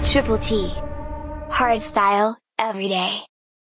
Triple T. Hardstyle, every day.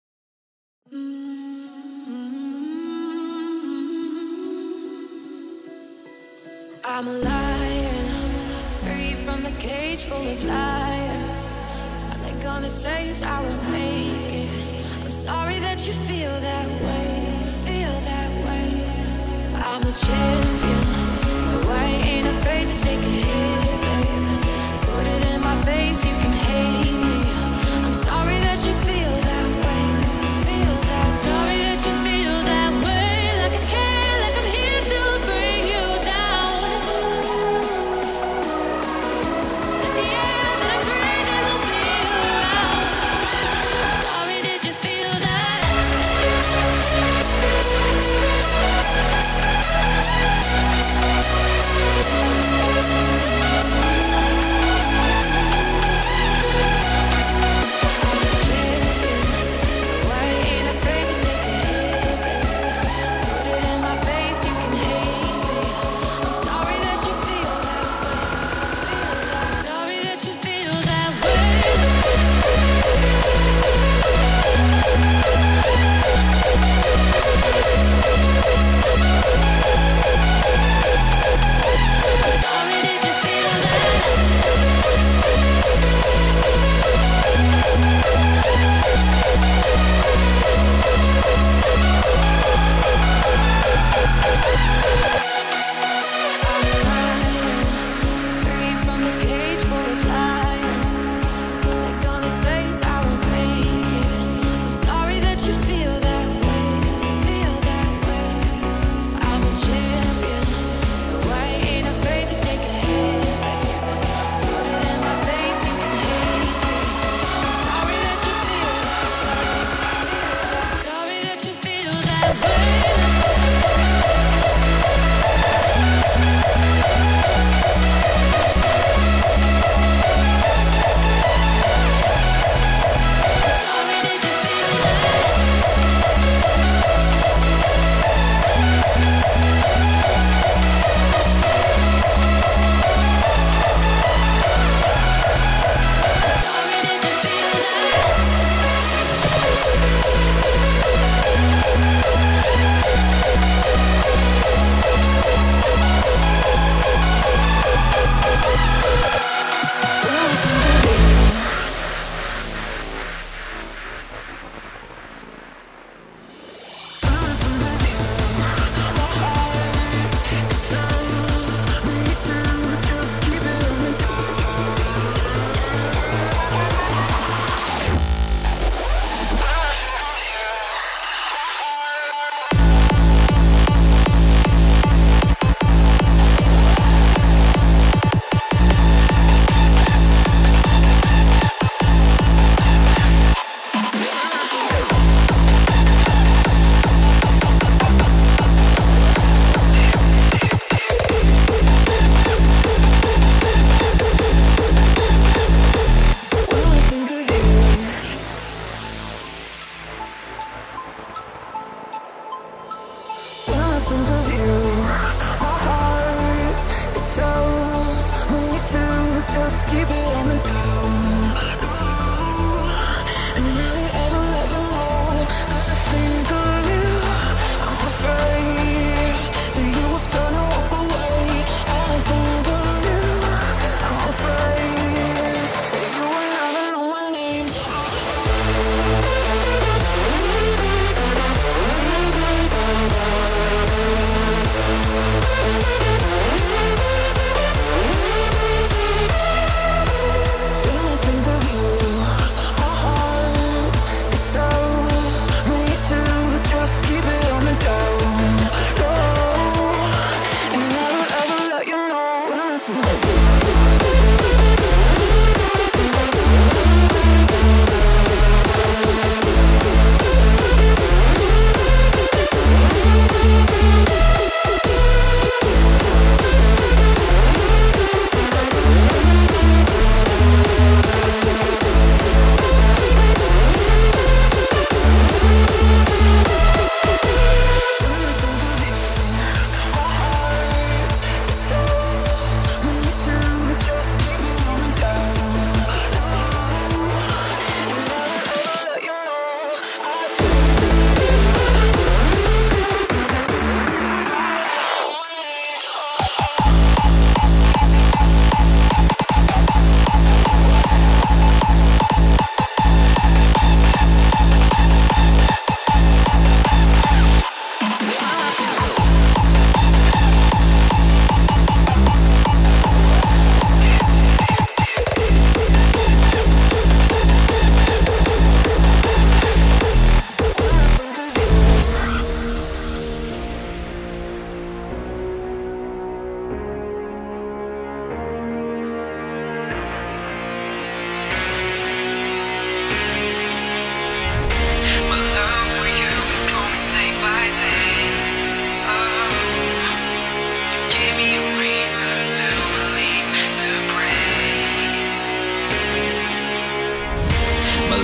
I'm a lion, free from the cage full of liars. All they're gonna say is I won't make it. I'm sorry that you feel that way, feel that way. I'm a champion, no, I ain't afraid to take a hit, babe. Put it in my face, you can hate me. I'm sorry that you feel that way, feel that way. Sorry that you feel that way, like I care, like I'm here to bring you down. That the air that I'm breathing will be around. Sorry, did you feel that?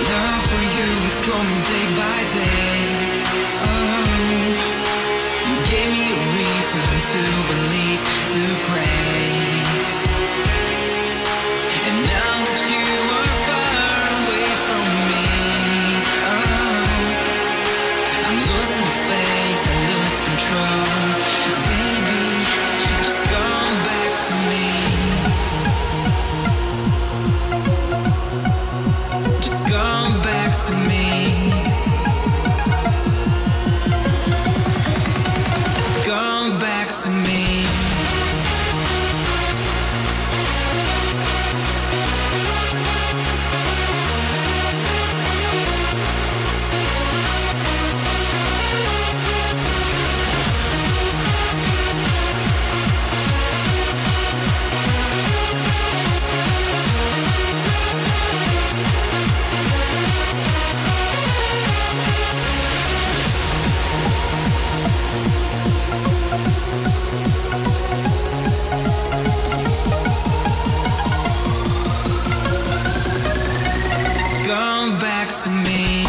love for you is growing day by day. Oh, you gave me a reason to believe, to pray. And now that you are far away from me, oh, I'm losing the faith, I lose control. Baby, just come back to me. Just come back to me. Come back to me. Come back to me.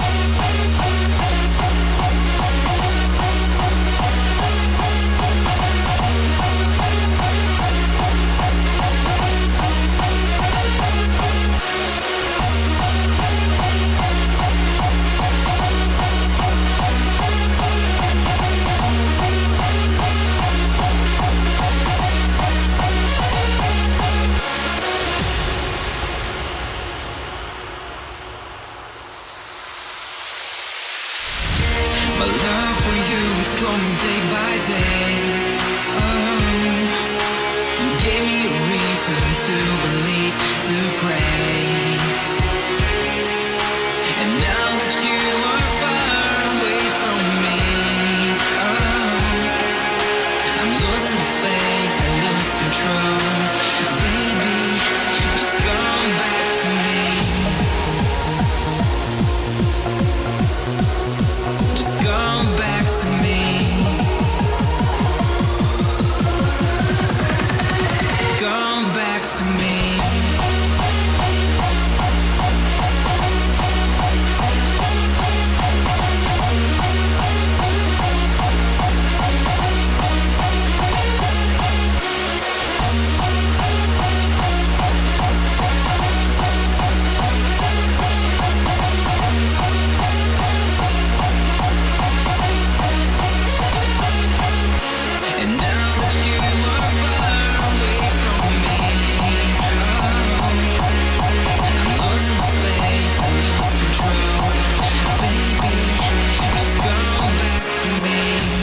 My love for you is growing day by day. Oh, you gave me a reason to believe, to pray. And now that you are far away from me, oh, I'm losing the faith, I lose control. Baby, just come back to me. Just come back to me. Come back to me. And now that you are far away from me, oh, I'm losing my faith, I lose control. Baby, just come back to me.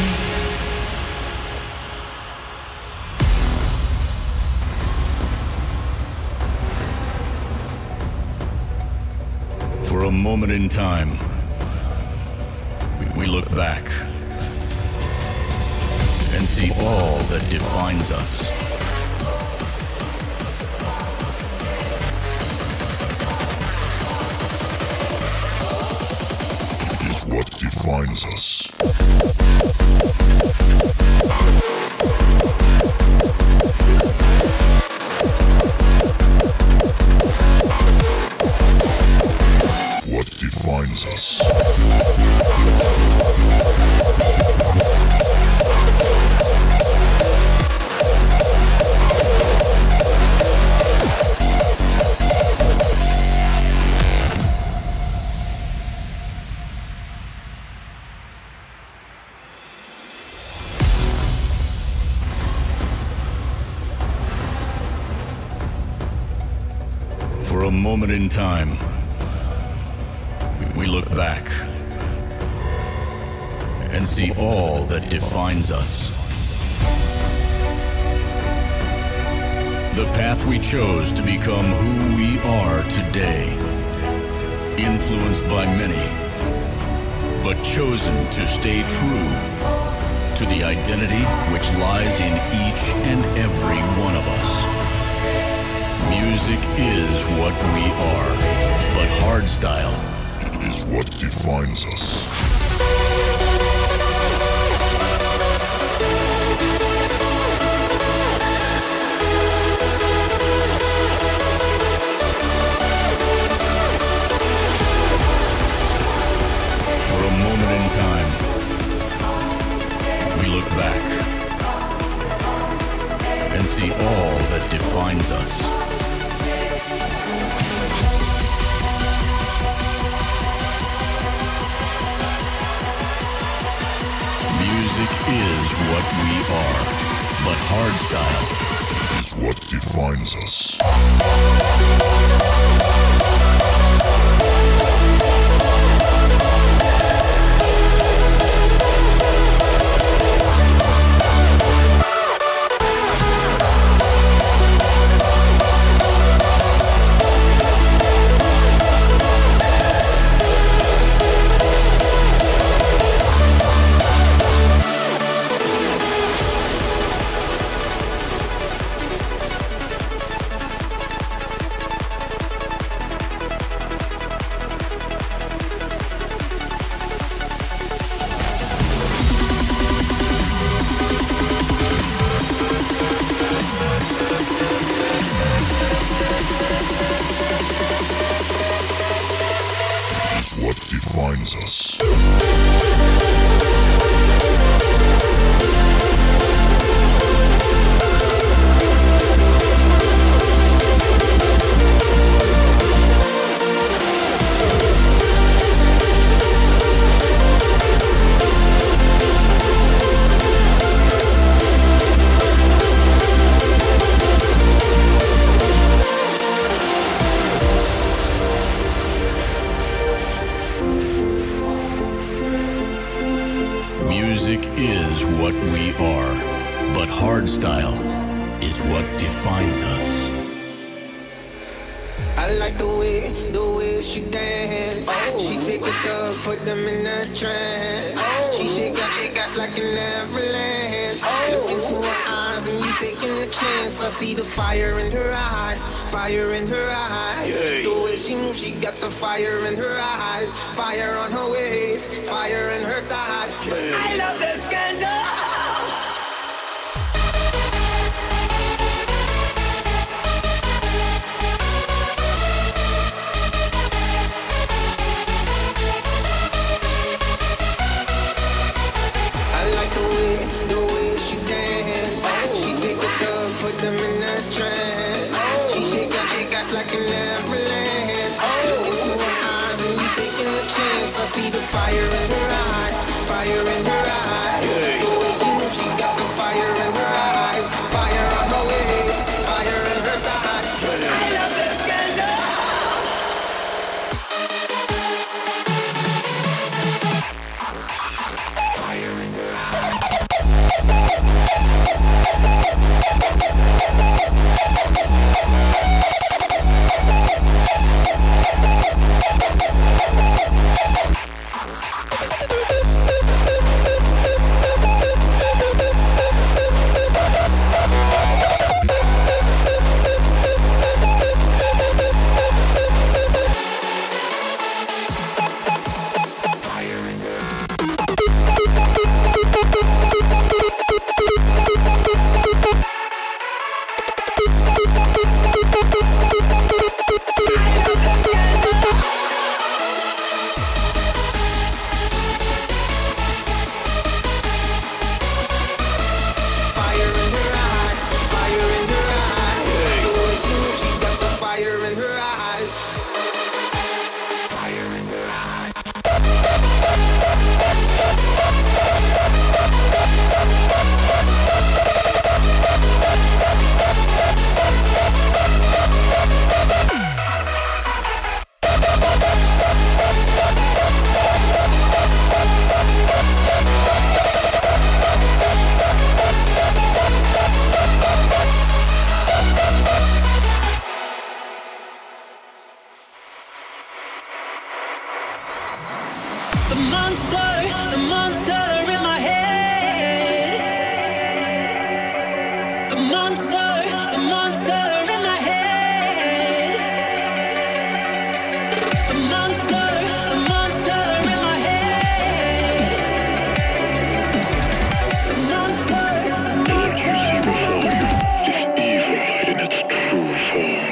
For a moment in time, we look back and see all that defines us. Is what defines us. What defines us. For a moment in time, we look back and see all that defines us. The path we chose to become who we are today, influenced by many, but chosen to stay true to the identity which lies in each and every one of us. Music is what we are, but hardstyle is what defines us. what we are, but hardstyle is what defines us. What defines us. Music is what we are, but hardstyle is what defines us. I like the way she dance. She take a dog, put them in a trance. She shake out like an avalanche. Look into her eyes and you taking a chance. I see the fire in her eyes, fire in her eyes. The way she moves, she got the fire in her eyes, fire on her waist, fire in her thighs. I love the scandal. The way she dance. She take a dog, put them in a trance. She shake out like an avalanche. Look into her eyes and you taking a chance. I see the fire in her eyes, fire in her eyes. The way she moves, she got the fire in her eyes, fire on her waist, fire in her thighs. I love this scandal. Fire in her eyes. The monster in my head. The monster in my head. The monster in my head. The monster. Dark evil in its true form.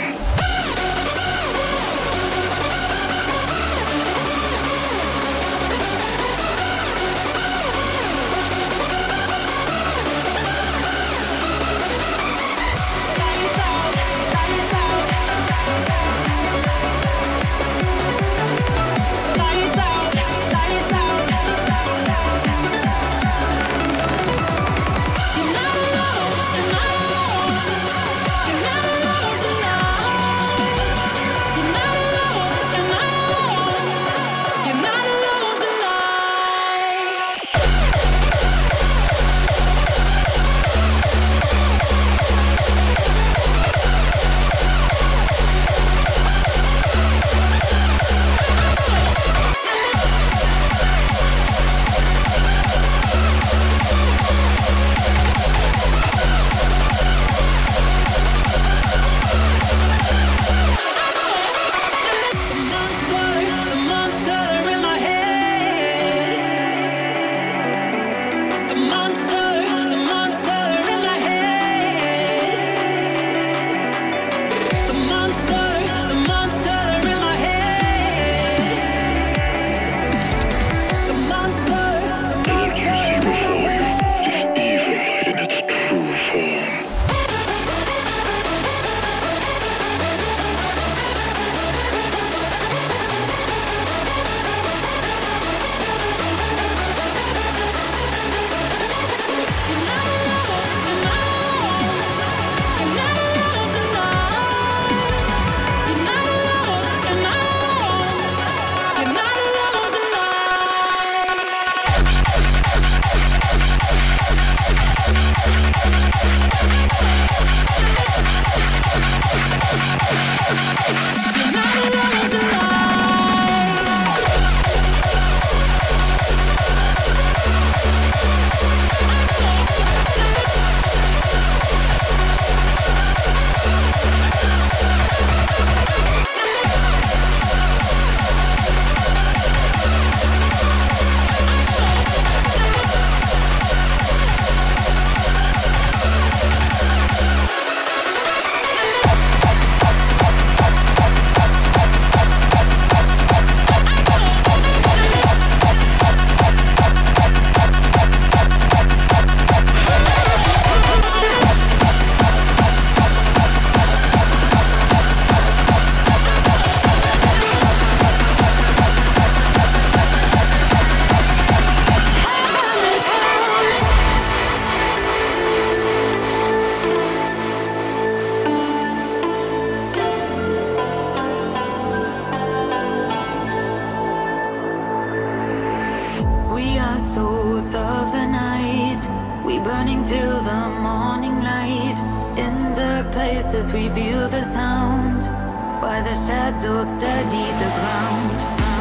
We burning till the morning light. In dark places we feel the sound, while the shadows steady the ground.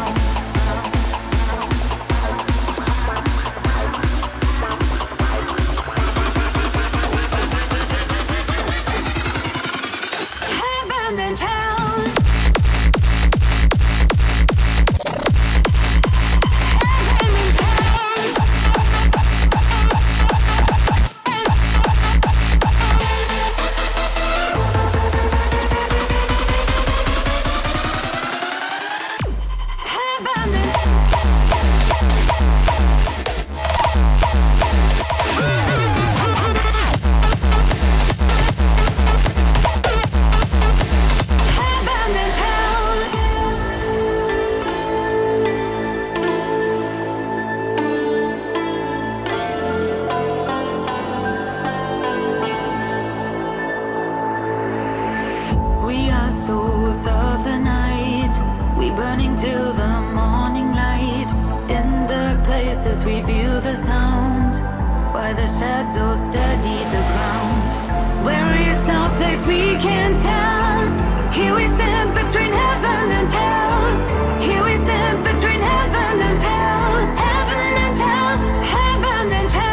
Heaven and hell. Souls of the night, we burning till the morning light. In dark places we feel the sound, while the shadows steady the ground. Where is our place we can't tell. Here we stand between heaven and hell. Here we stand between heaven and hell. Heaven and hell, heaven and hell.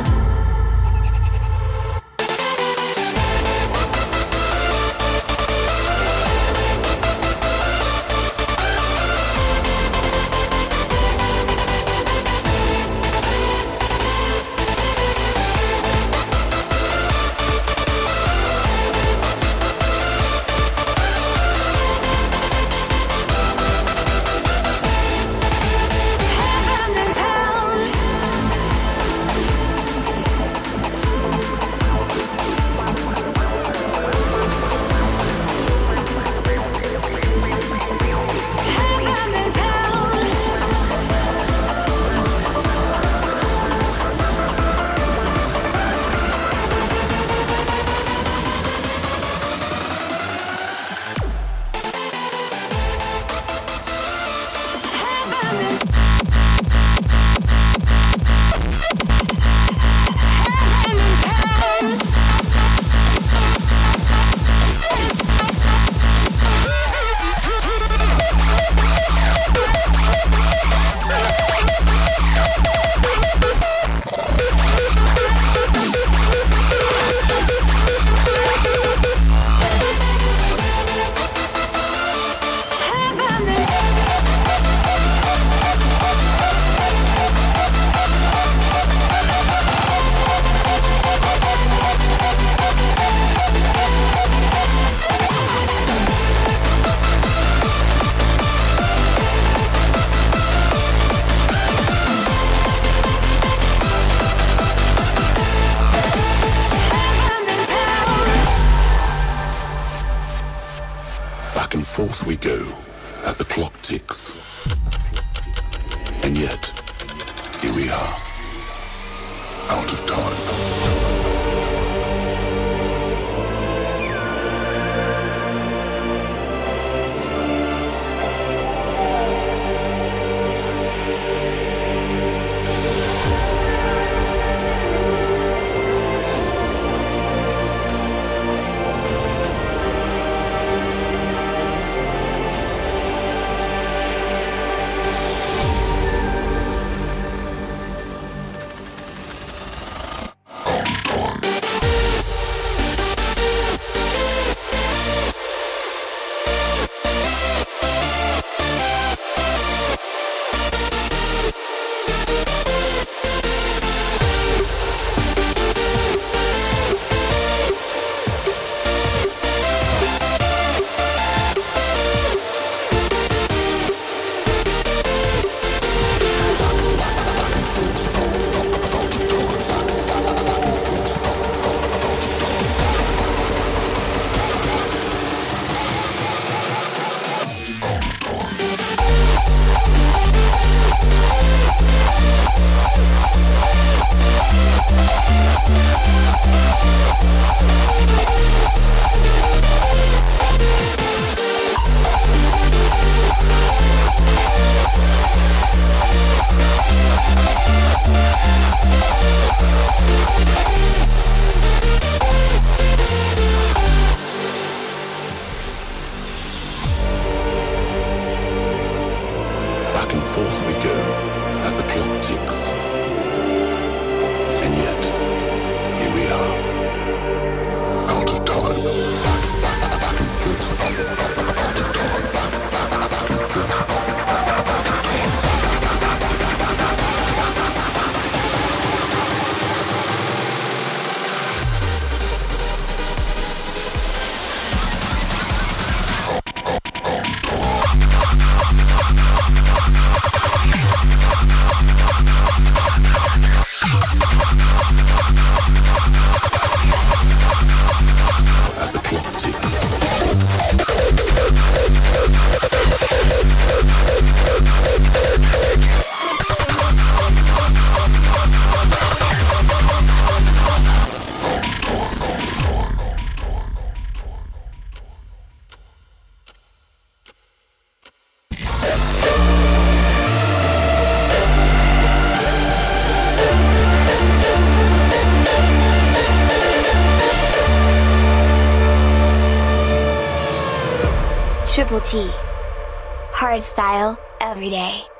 Back and forth we go as the clock ticks. And yet, here we are, out of time. Back and forth we go as the clock ticks. And yet, here we are, out of time. Back and forth, out of time. Back and forth, out of time. As the clock ticks. Triple T. Hardstyle, every day.